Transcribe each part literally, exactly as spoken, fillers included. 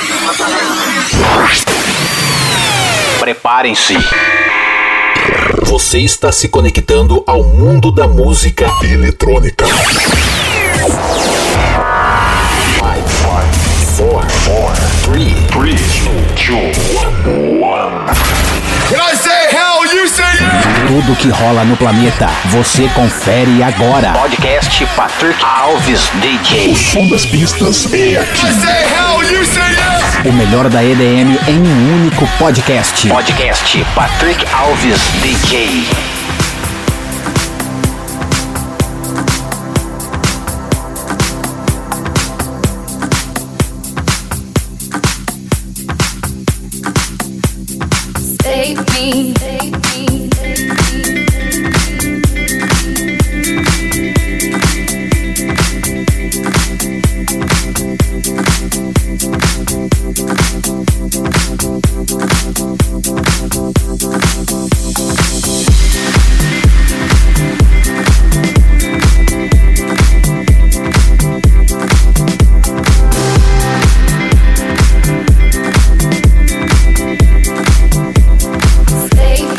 Preparem-se. Você está se conectando ao mundo da música eletrônica. five, four, three, two, one. When I say hell, you say yeah! Tudo que rola no planeta, você confere agora. Podcast Patrick Alves D J. O som das pistas é aqui. When I say hell, you say yeah! O melhor da E D M em um único podcast. Podcast Patrick Alves D J. Save me, save me, save me. Stay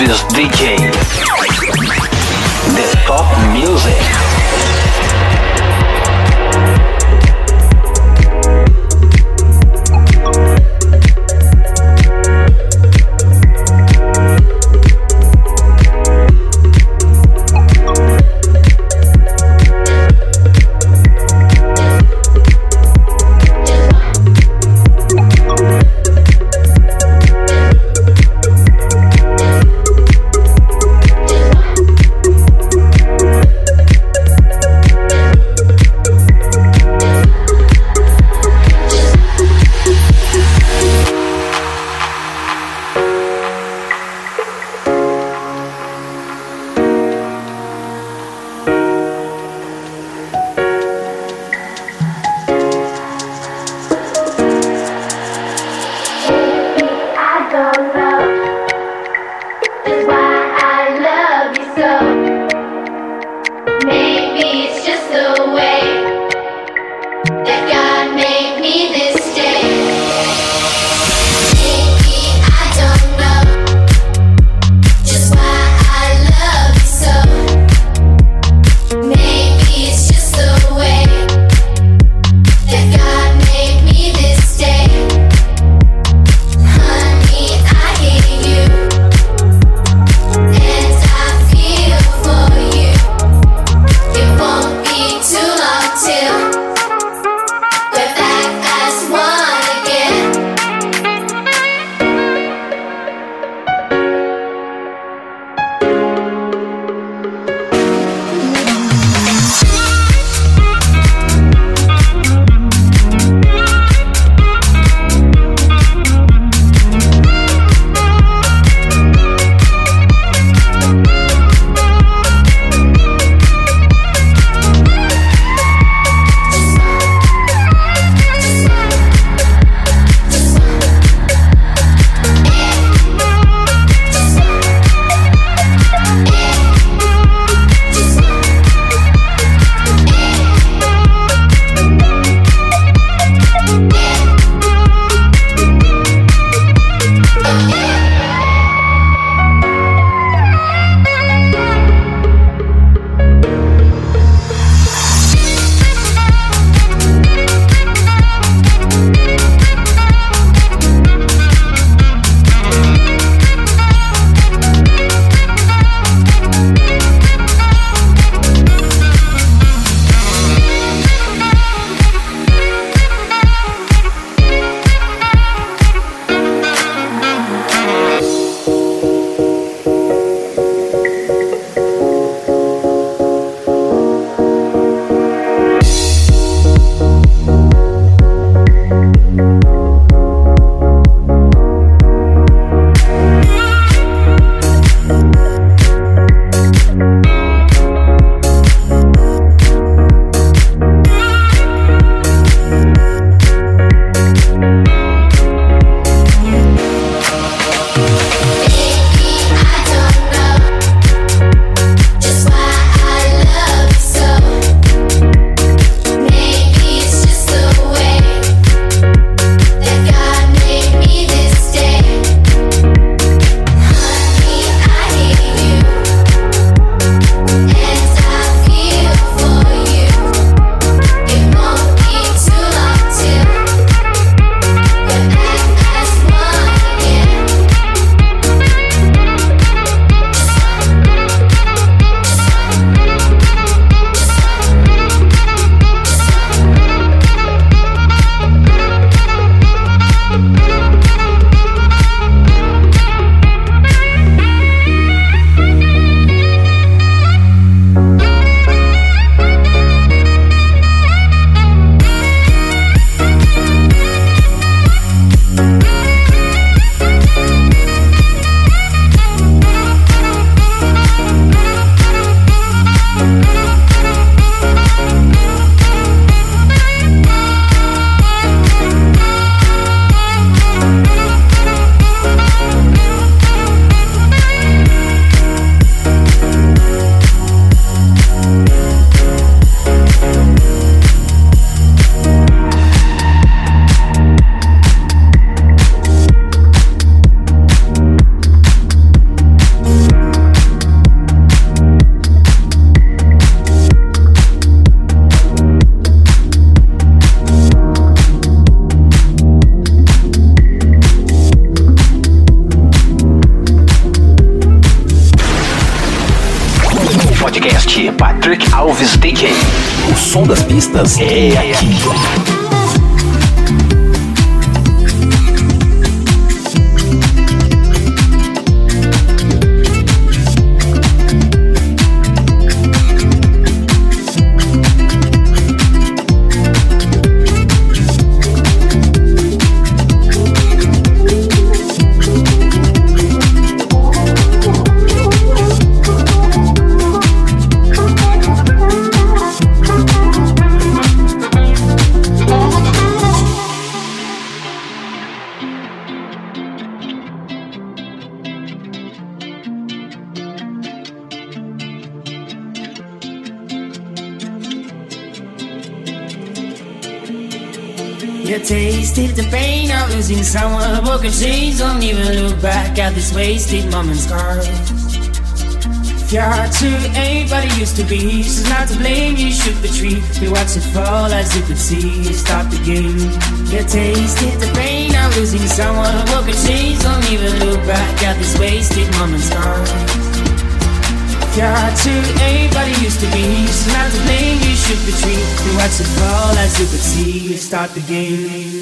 Alves D J. The Top Music. podcast Patrick Alves D J. O som das pistas é aqui. You tasted the pain of losing someone. Broken chains, don't even look back at this wasted moment's scars. If your heart to anybody used to be, she's not to blame. You shook the tree, you watched it fall as you could see. You stopped the game. You tasted the pain of losing someone. Broken chains, don't even look back at this wasted moment's scars. If your heart to anybody used to be, she's not to blame. You shook the tree, you watched it fall as you could see. You start the game.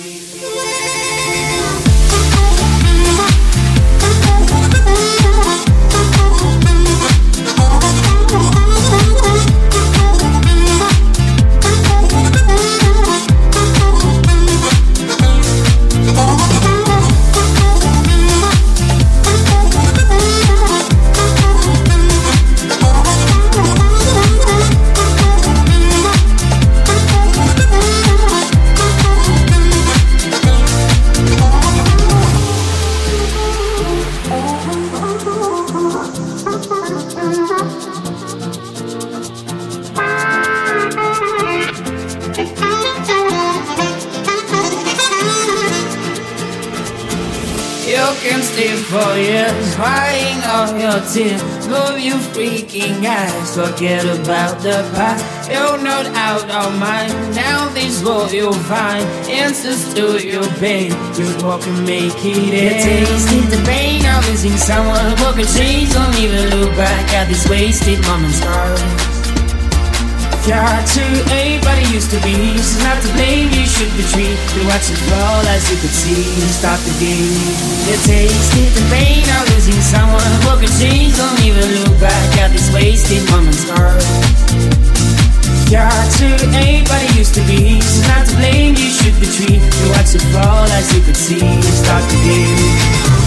For years, crying all your tears, move you freaking eyes, forget about the past. You're not out of mind, now this world you'll find answers to your pain. You walk and make it end. You tasted the pain of losing someone. Broken chains, don't even look back at this wasted moment's scars. If your heart to anybody used to be, she's not to blame. You shook the tree, you watched it fall as you could see. You stopped the game. You tasted the pain of losing someone. Broken chains, don't even look back at this wasted moment's scars. If your heart to anybody used to be, she's not to blame. You shook the tree, you watched it fall as you could see. You stopped the game.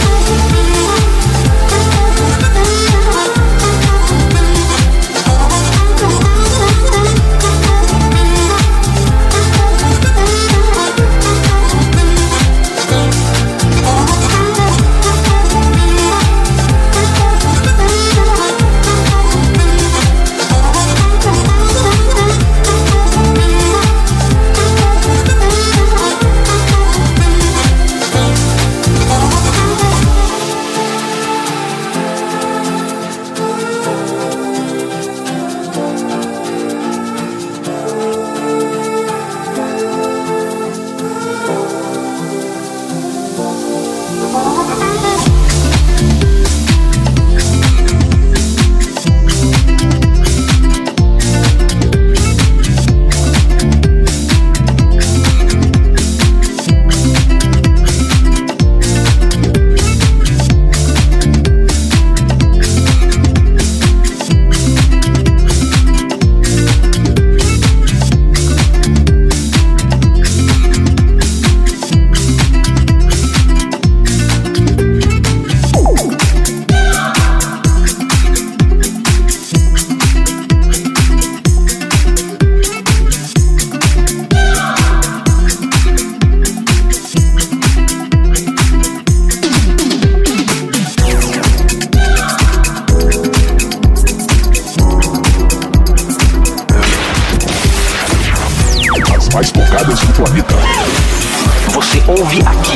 mais tocadas do planeta. Você ouve aqui.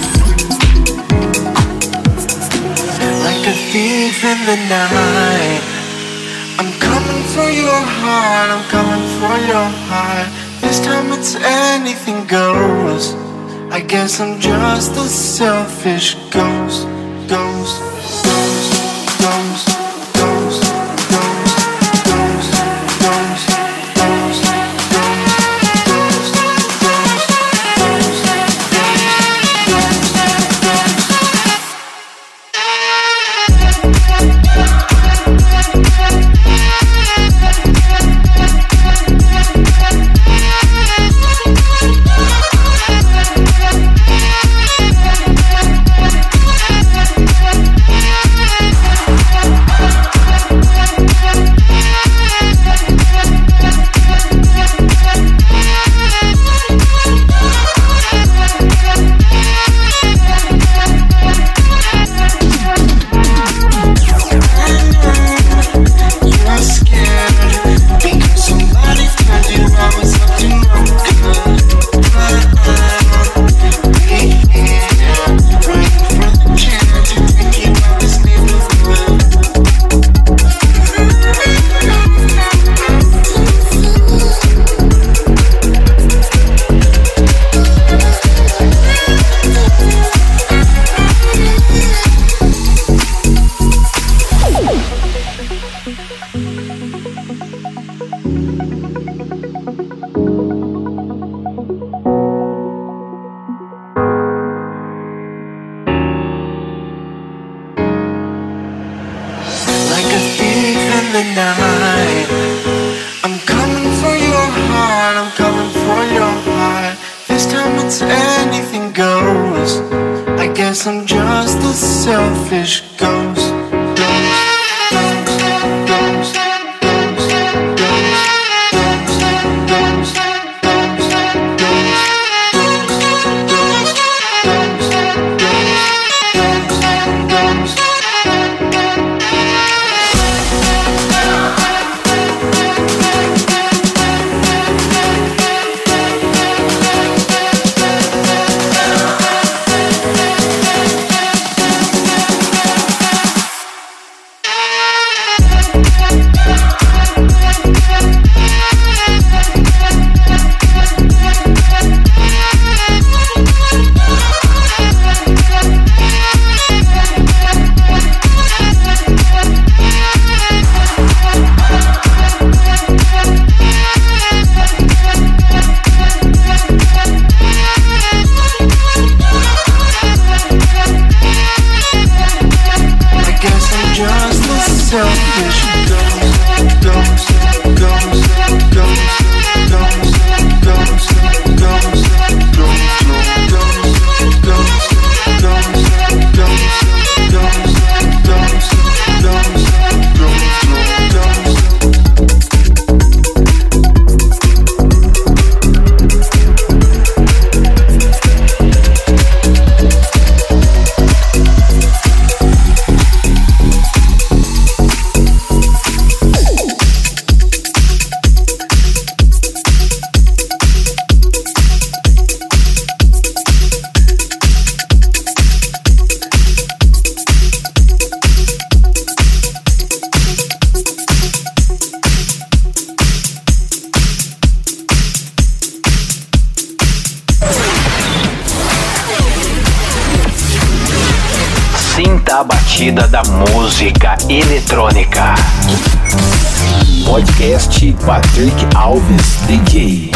Like a thief in the night, I'm coming for your heart, I'm coming for your heart. This time it's anything goes. I guess I'm just a selfish ghost, ghost, ghost, ghost, ghost, ghost. the night. I'm coming for your heart, I'm coming for your heart. This time it's anything goes. I guess I'm just a selfish ghost. A batida da música eletrônica. Podcast Patrick Alves D J.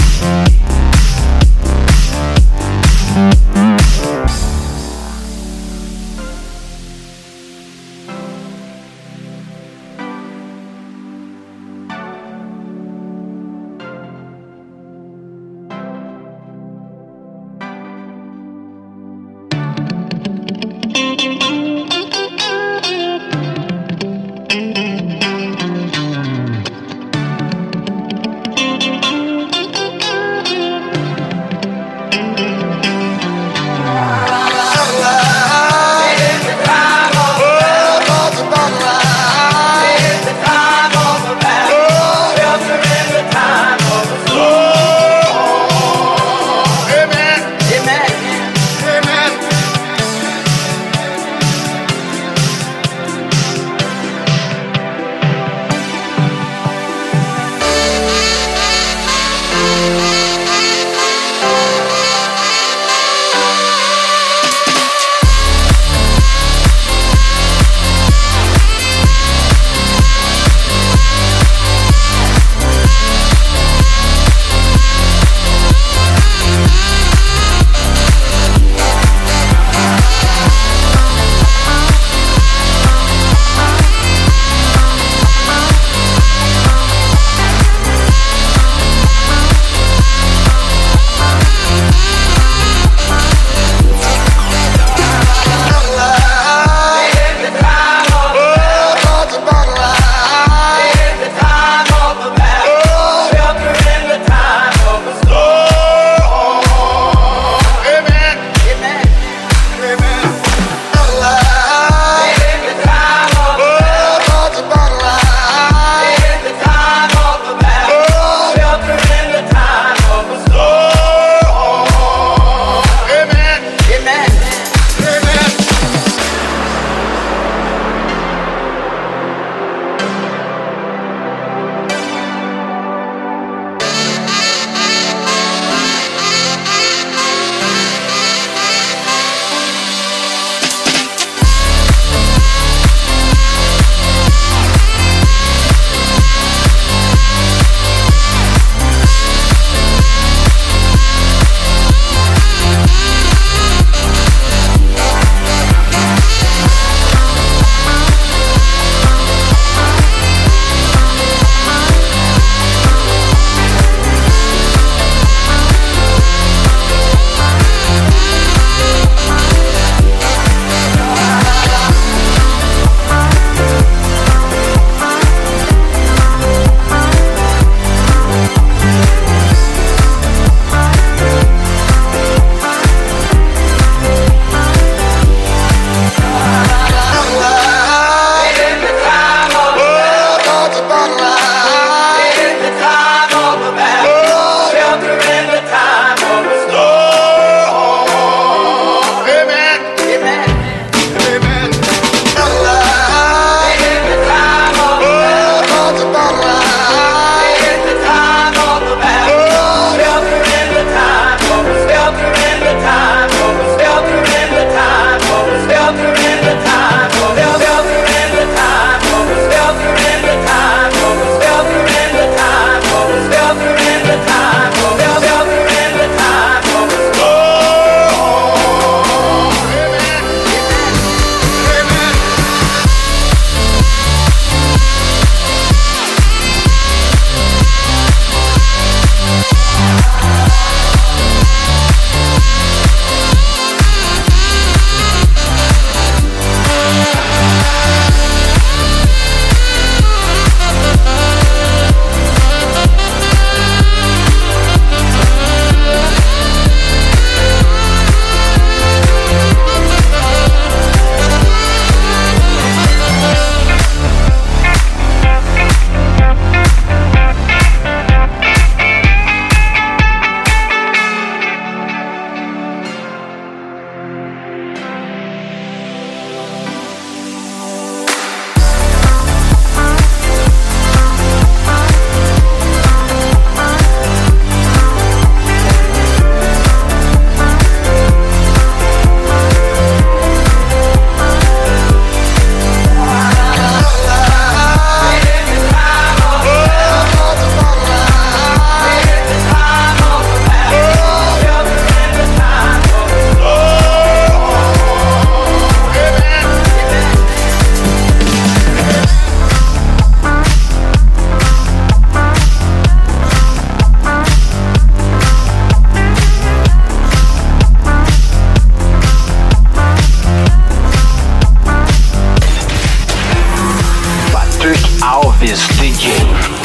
Chaves D J.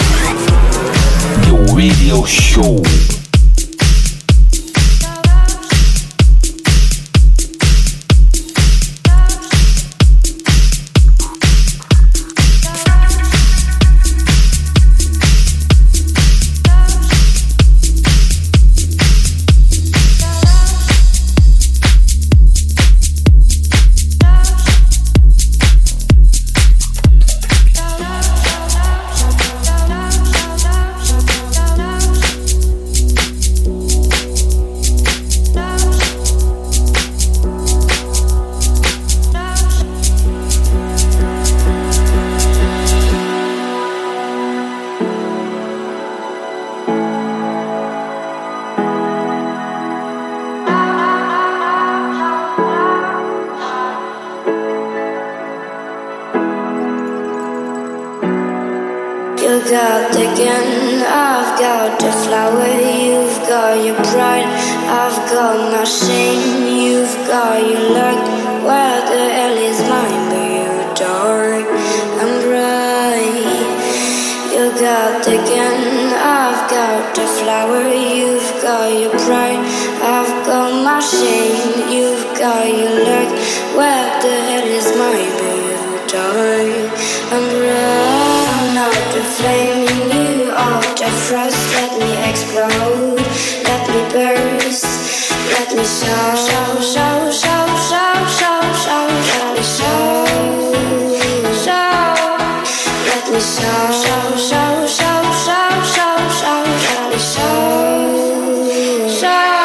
The Radio Show. You got the gun, I've got the flower. You've got your pride, I've got my shame. You've got your luck, where the hell is mine? But you're dark and bright. You got the gun, I've got the flower. You've got your pride, I've got my shame. You've got your luck, where the hell is mine? But you're dark and bright. Out the flame in you, out the frost. Let me explode, let me burst, let me show, show, show, show, show, show, show, let me show, show, let me show, show, show, show, show, show, show, let me show, show.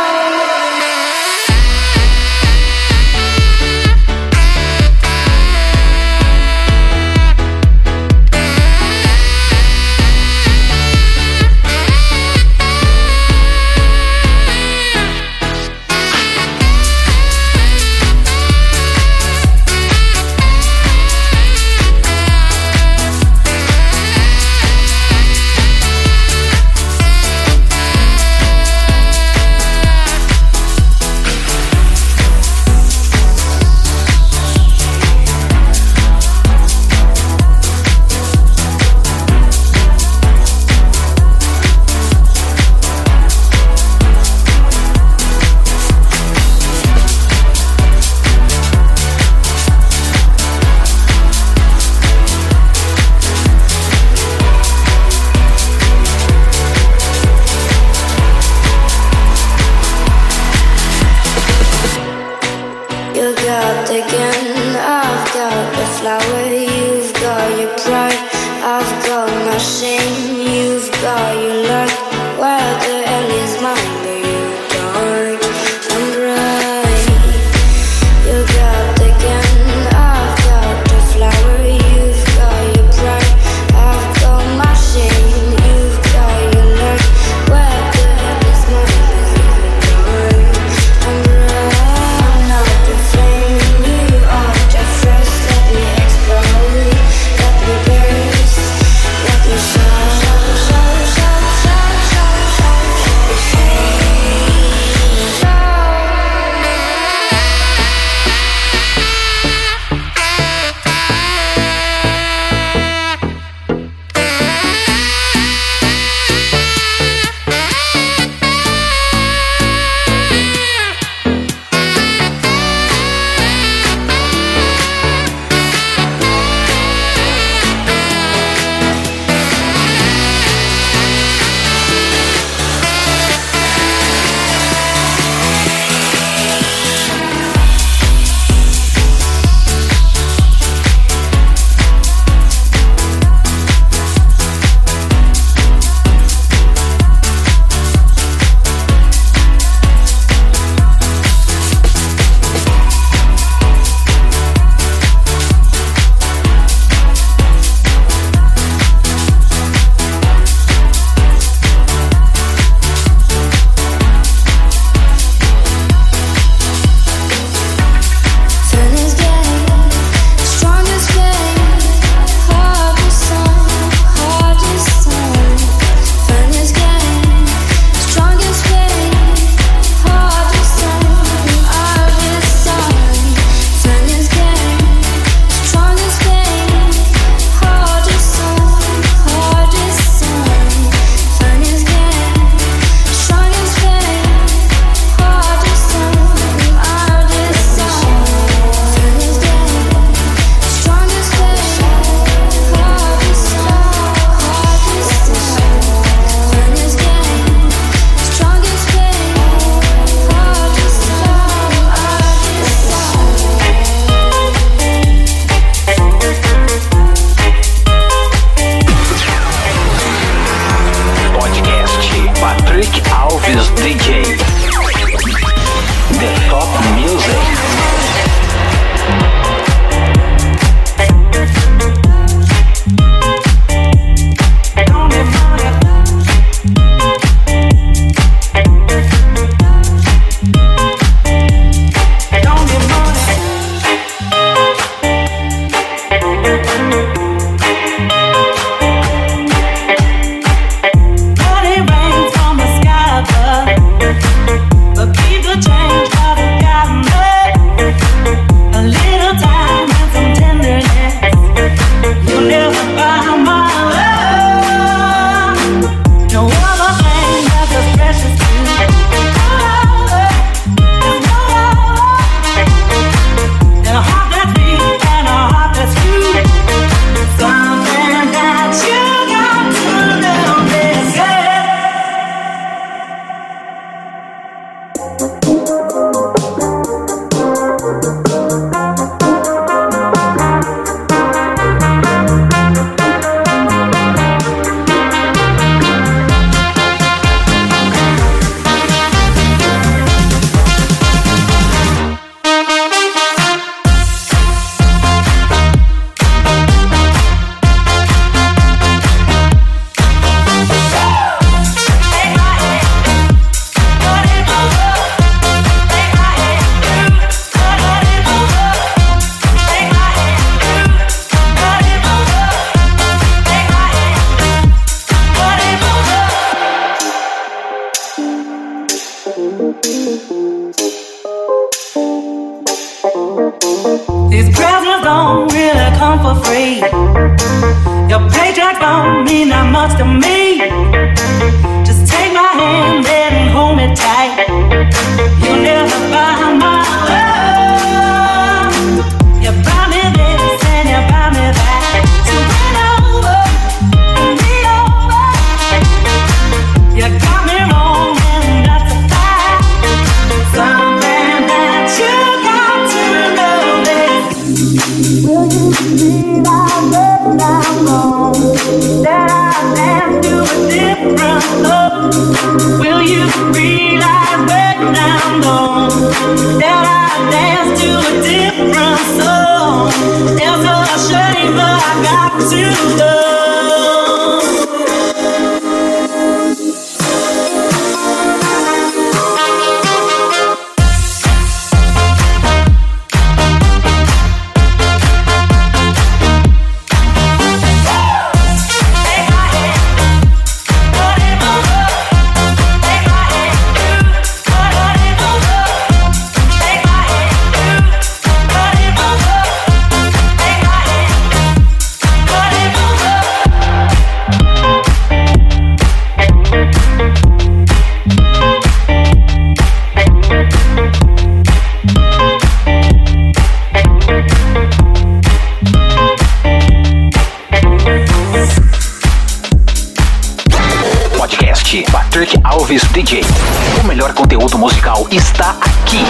Patrick Alves D J. O melhor conteúdo musical está aqui.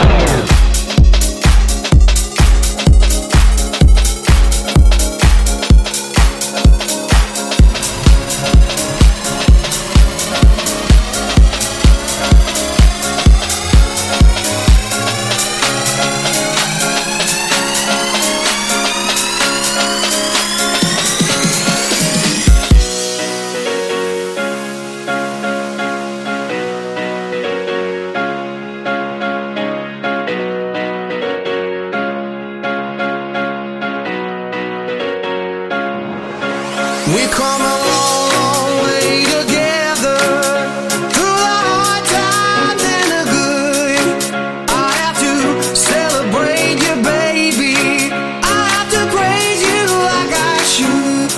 We come a long, long way together, through the hard times and the good. I have to celebrate you, baby. I have to praise you like I should.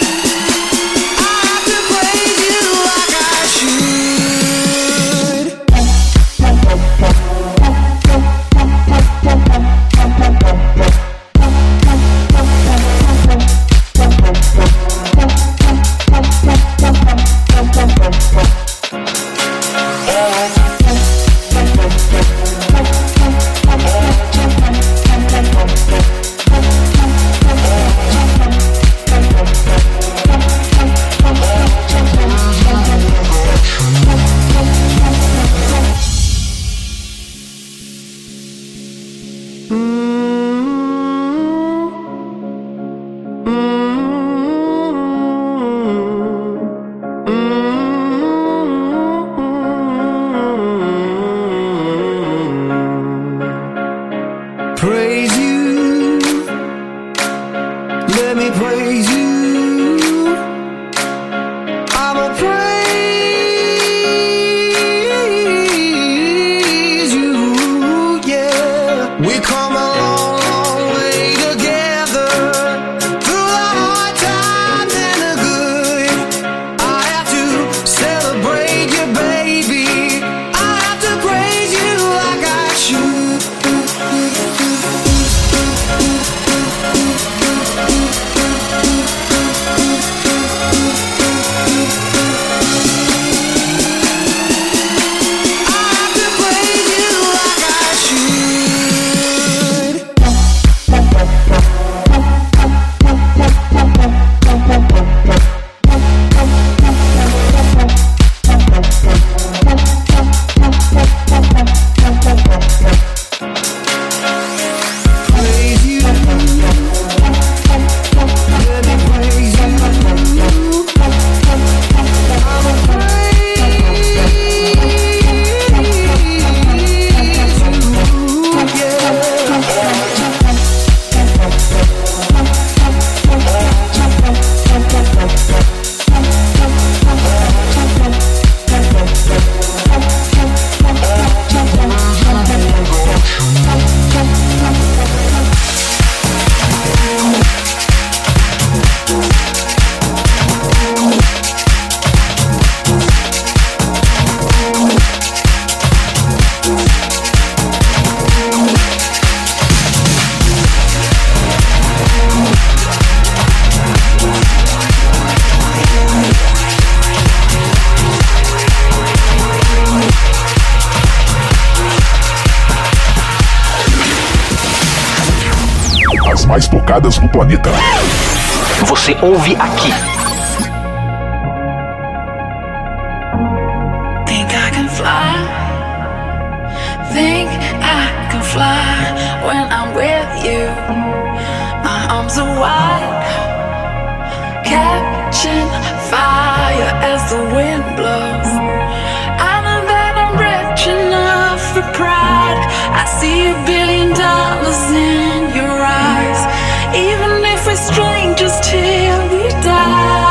I have to praise you like I should. tocadas do planeta. Você ouve aqui. Think I can fly. Think I can fly when I'm with you. My arms are wide, catching fire as the wind blows. I know that I'm rich enough for pride. I see a billion dollars in your eyes. Even if we're strangers till we die.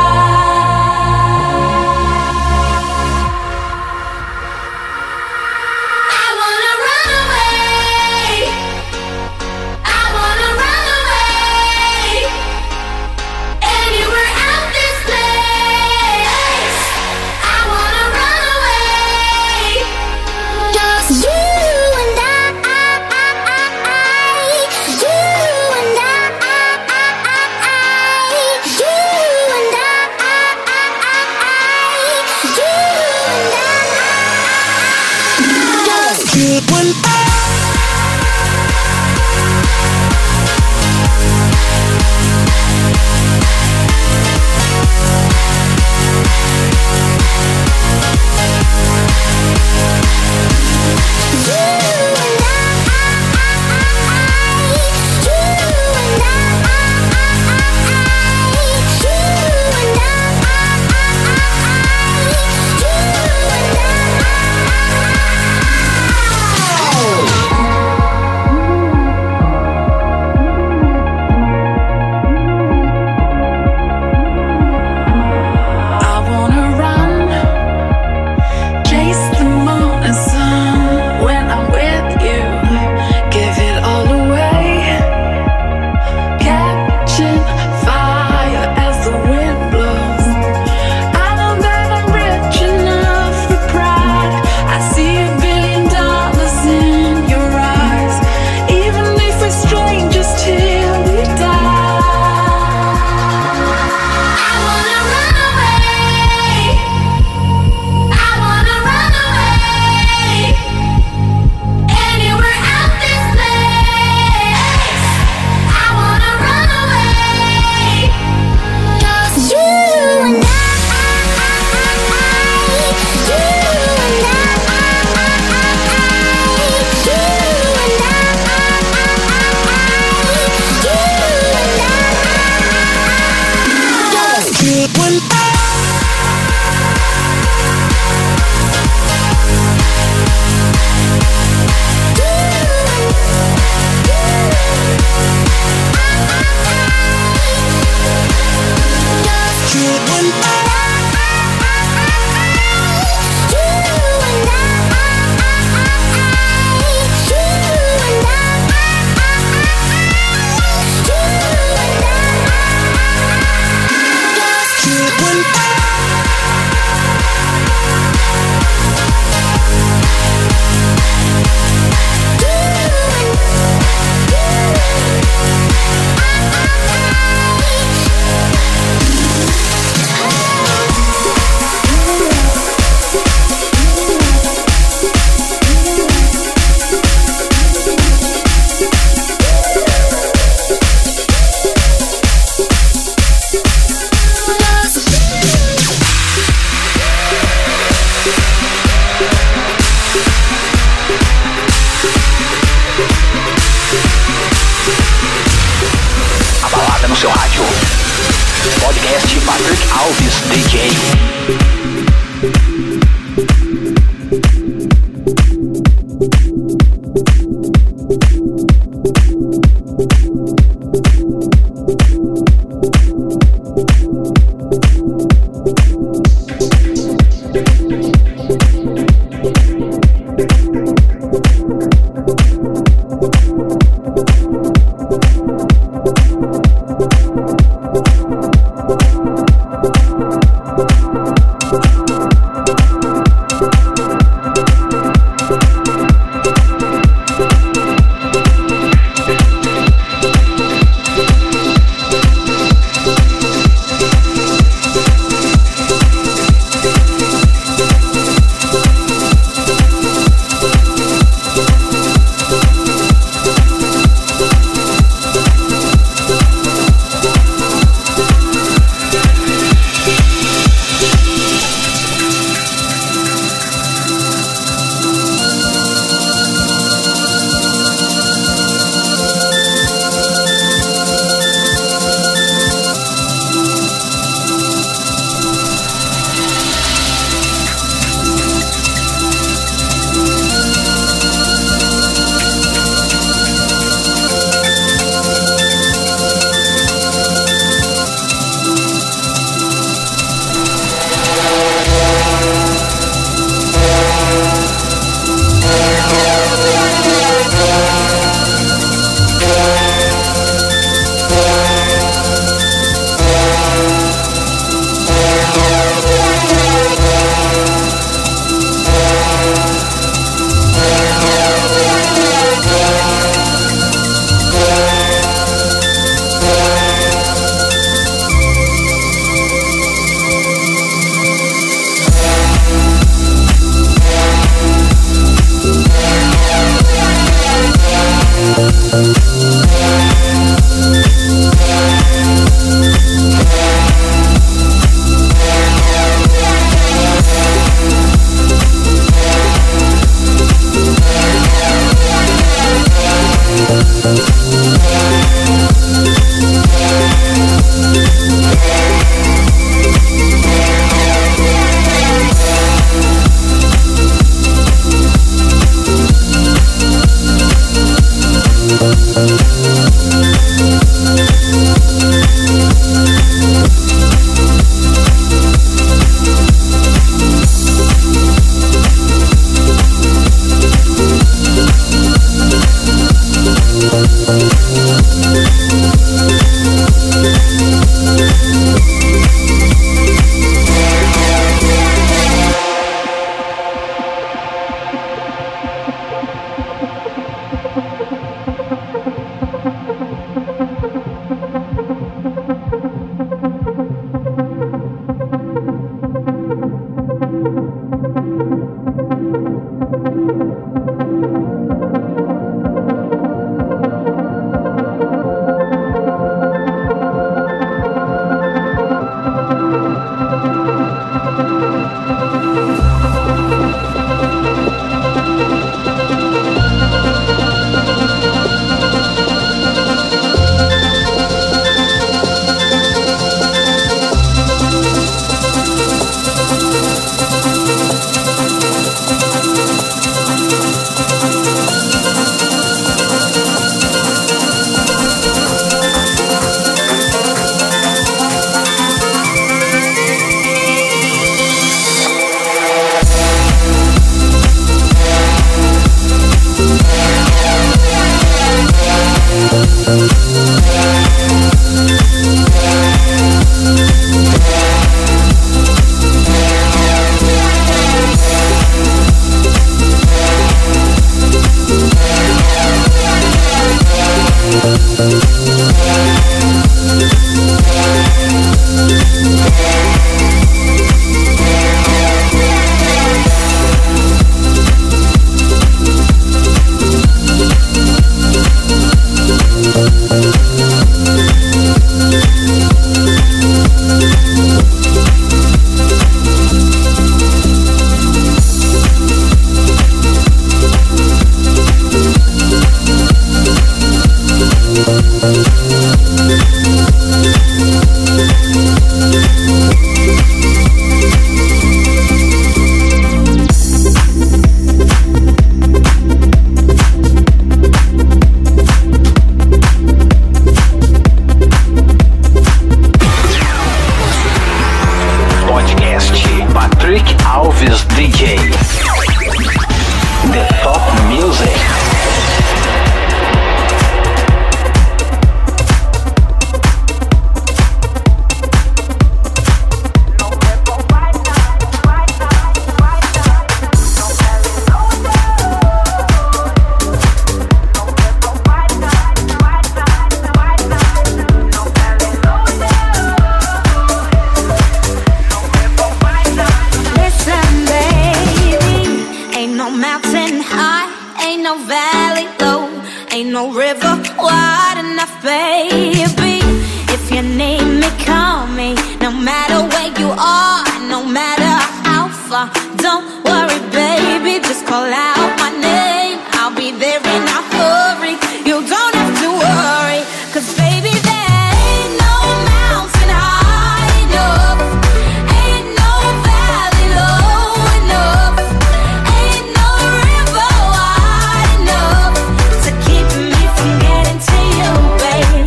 no valley low, ain't no river wide enough, baby. If you need me, call me. No matter where you are, no matter how far, don't worry, baby. Just call out my name, I'll be there in a hurry. You don't have to worry, 'cause baby, there ain't no mountain high enough, ain't no valley low enough, ain't no river wide enough to keep me from getting to you, baby.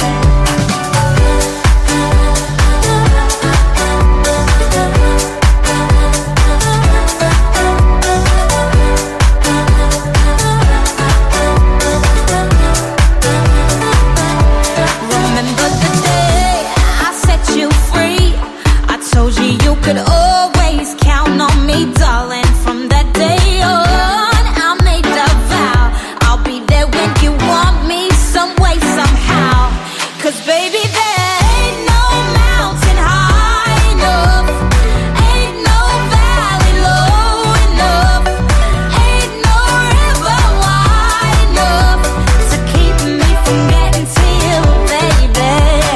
Remember the day I set you free? I told you you could always count on me, darling. From that day on, I made a vow I'll be there when you want me, some way, somehow. 'Cause baby, there ain't no mountain high enough, ain't no valley low enough, ain't no river wide enough to keep me from getting to you, baby.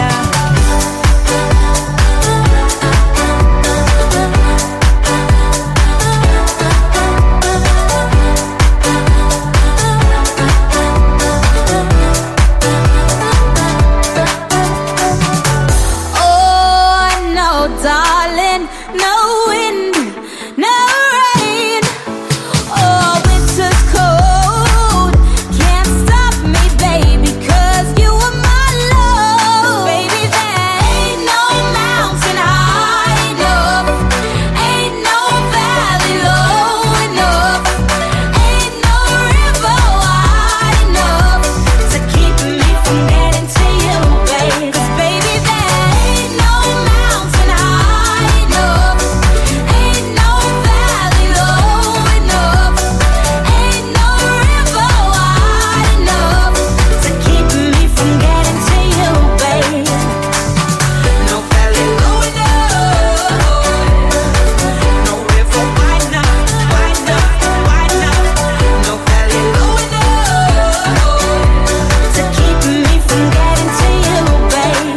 Oh, no, darling, no wind, no rain. Oh, winter's cold, can't stop me, baby, 'cause you are my love. Baby, there ain't no mountain high enough, ain't no valley low enough, ain't no river wide enough to keep me from getting to you, baby. 'Cause baby, there ain't no mountain high enough, ain't no valley low enough, ain't no river wide enough to keep me from getting to you, baby. No valley low enough, no river wide enough, wide enough, wide enough. No valley low enough to keep me from getting to you, baby.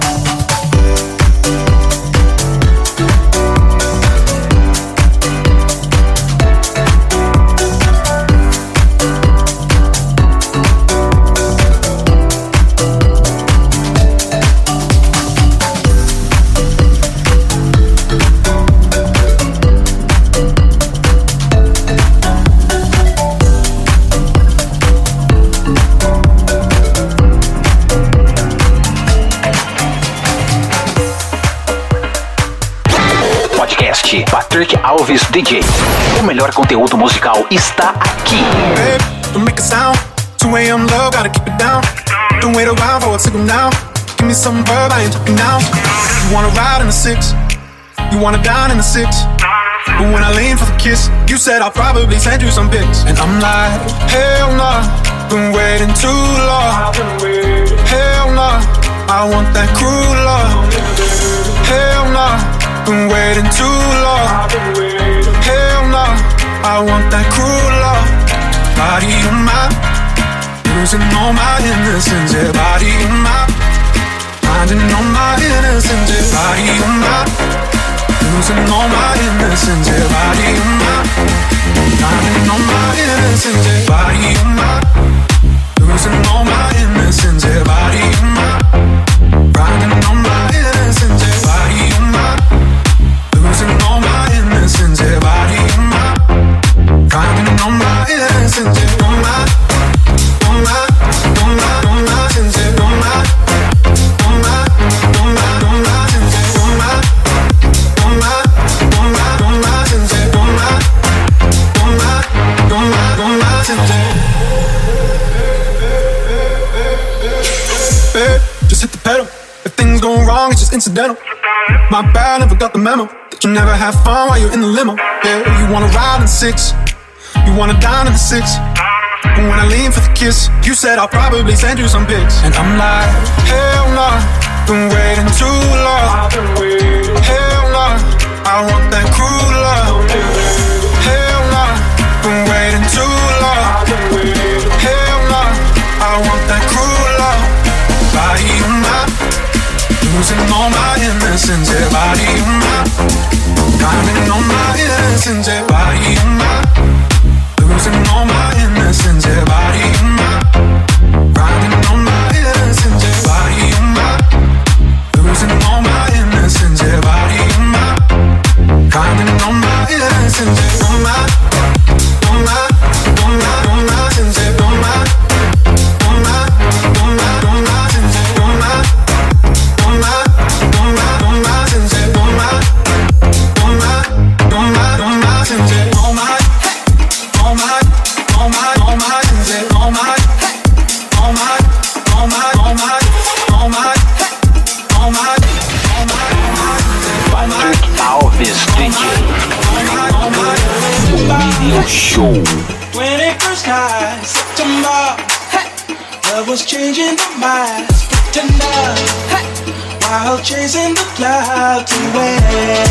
Podcast Patrick Alves D J. O melhor conteúdo musical está aqui. Babe, don't make a sound. two a.m. low, gotta keep it down. Don't wait around for a signal now. Give me some verb, I ain't talking now. You wanna ride in the six, you wanna dine in the six. But when I lean for the kiss, you said I'll probably send you some pics. And I'm like, hell nah, been waiting too long. Hell nah, I want that cruel love. Hell nah, been waiting too long. Hell nah, I want that cruel love. Body on my, losing all my innocence. Yeah, body on my, finding all my innocence. Yeah, body on my, losing all my innocence. Yeah, body on my, finding all my innocence. Yeah, body on my, losing all my innocence. Yeah, body on my, finding all my innocence. Yeah, body on my, losing all my innocence. Yeah, body on my, finding all my innocence. Yeah, on my, on my, on my, on my innocence. Yeah, on my, on my, on my, on my innocence. Yeah, on my, on my, on my, on my innocence. Yeah, on my, on my, on my, on my innocence. Babe, just hit the pedal. If things go wrong, it's just incidental. My bad, never got the memo that you never have fun while you're in the limo. Yeah, you wanna ride in the six, you wanna dine in the six. But when I lean for the kiss, you said I'll probably send you some pics. And I'm like, hell nah, been waiting too long. Hell nah, I want that cruel love. Hell nah, been waiting too long. Grinding on my innocence, yeah, body and mind. Losing all my innocence, yeah, body and mind. Grinding on my innocence, yeah, body and mind. Losing all my innocence, yeah, body and mind. Grinding on my innocence, yeah, on my, on my, on my, on my innocence, yeah, on my, on my, on my, on my innocence, yeah, on my, on my, on my, on my innocence, yeah, on my, on my, on my, on my innocence, yeah, on my, on my, on my, on my innocence, yeah, on my, on my, on my, on my, on my, on my, on my, Patrick Alves D J. Radio Show. twenty-first night, September. Love was changing the minds, pretender. While chasing the clouds away.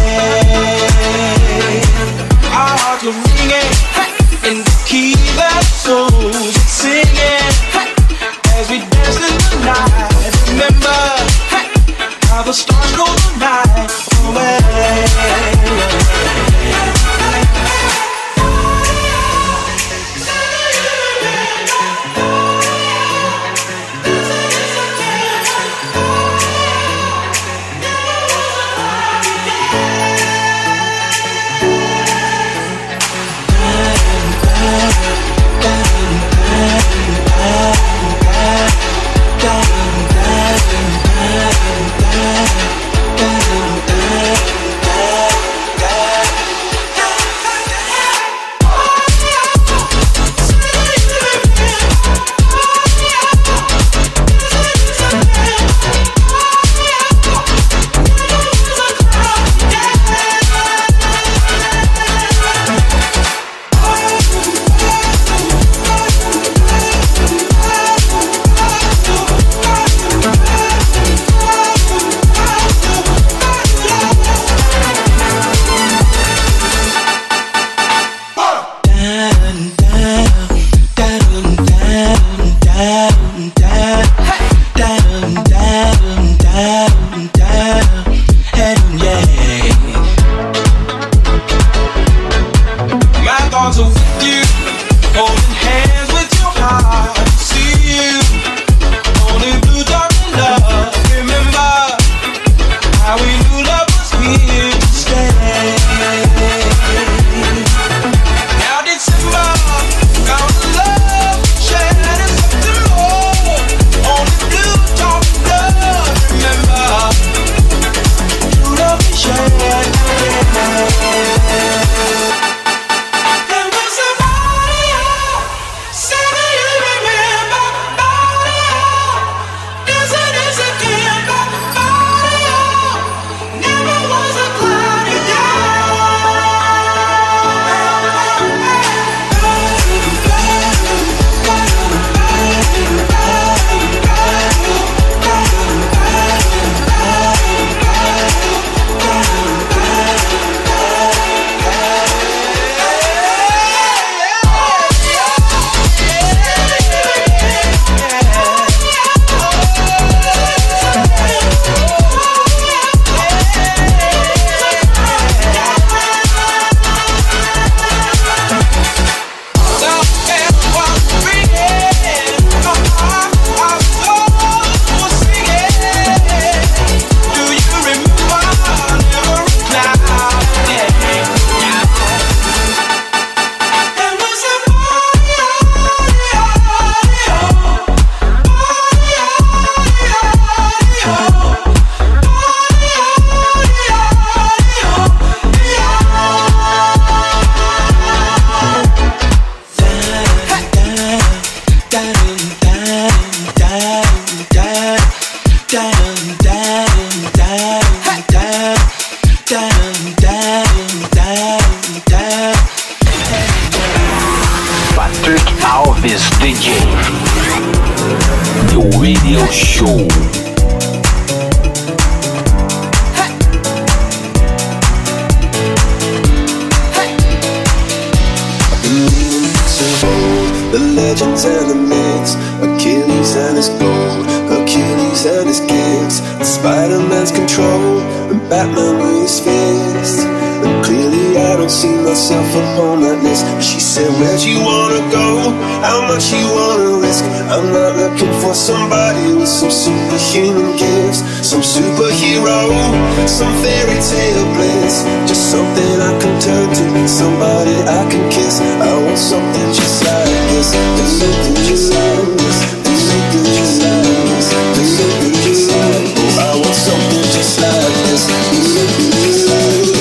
Our hearts were ringing in the key that souls were singing. As we danced in the night, remember how the stars go the night away. Radio Show. The legends and the myths, Achilles and his gold, Hercules and his gifts, Spider-Man's control, and Batman with his fist, and don't see myself upon that list. She said, where'd you wanna go? How much you wanna risk? I'm not looking for somebody with some superhuman gifts, some superhero, some fairy tale bliss. Just something I can turn to, somebody I can kiss. I want something just like this, something just like this, something just like this, something just like this. I want something just like this, something just like this.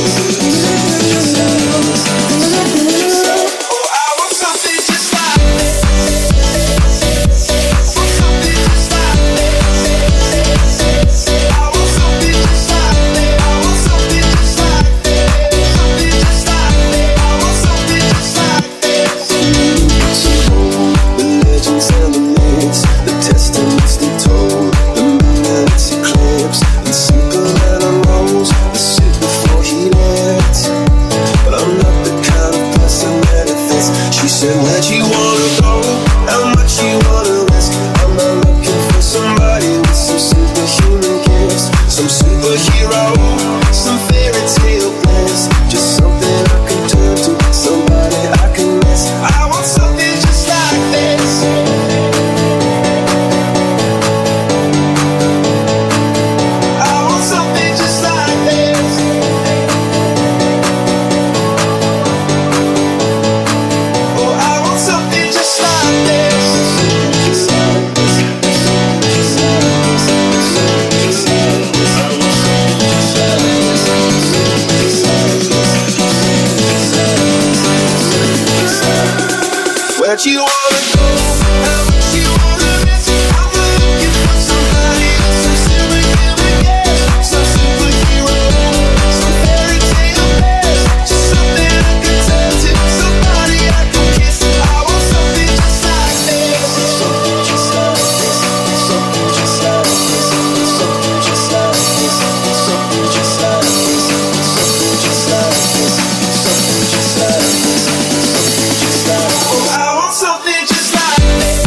Where'd you wanna go? How much you wanna risk? I'm looking for somebody else, some superhuman gifts, some superhero, some fairy tale bliss. Just something I can turn to, somebody I can kiss. I want something just like this, something just like this, something just like this, something just like this, something just like this, something just like this, something just like this, something just like this. Oh, I want something just like this.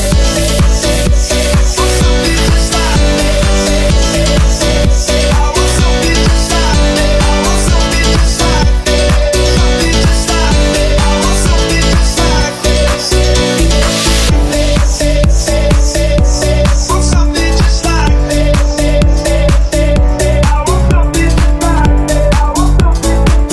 Something just like this. I want something just like this. I want something just like this. Something just like this. I want something just like this. Want something just like this. I want something just like this. I want something just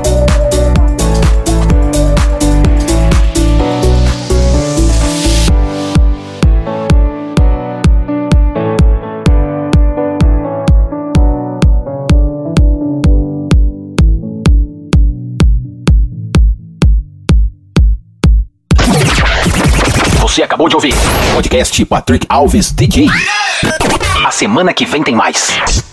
Você acabou de ouvir podcast Patrick Alves D J. A semana que vem tem mais.